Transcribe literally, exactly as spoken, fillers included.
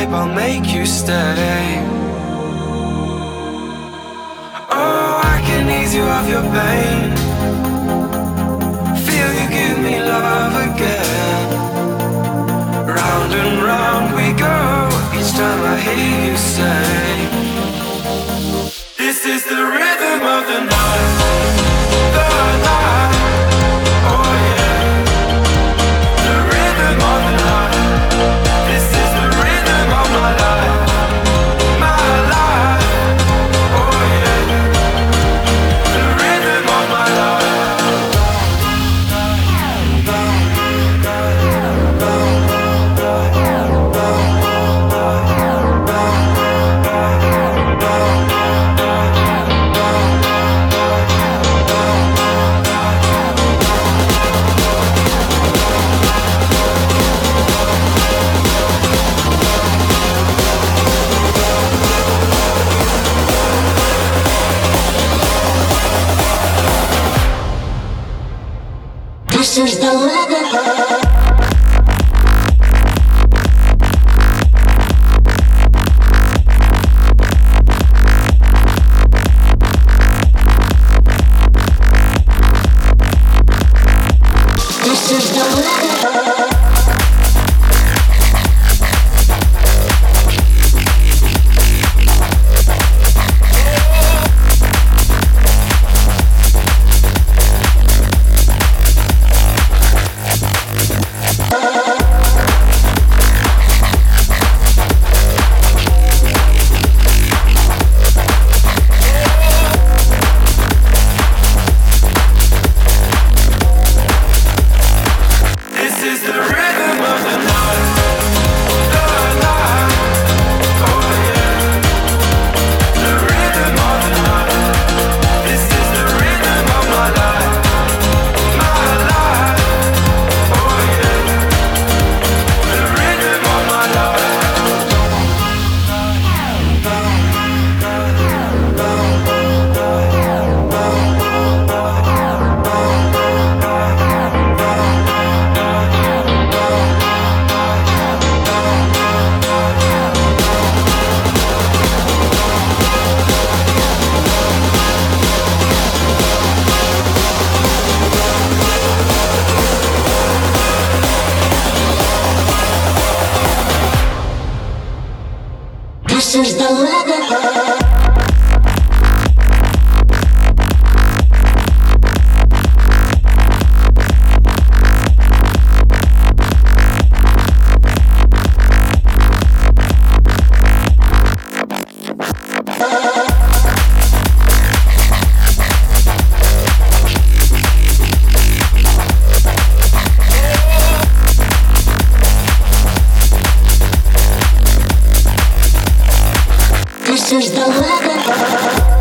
babe, I'll make you stay. Oh, I can ease you of your pain. Feel you give me love again. Round and round we go, each time I hear you say, this is the rhythm of the night, the night. Oh yeah, the rhythm of the night. This is the rhythm of my life, my life. Oh yeah, the rhythm of my life. This is the rhythm. This is the rhythm. This is the rhythm. This is the rhythm.